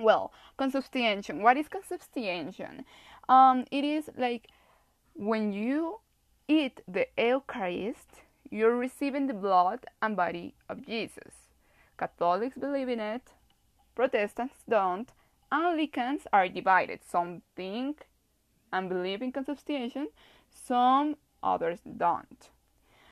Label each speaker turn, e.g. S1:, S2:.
S1: Well, consubstantiation. What is consubstantiation? It is like when you eat the Eucharist, you're receiving the blood and body of Jesus. Catholics believe in it, Protestants don't, Anglicans are divided. Some think and believe in consubstantiation, some others don't.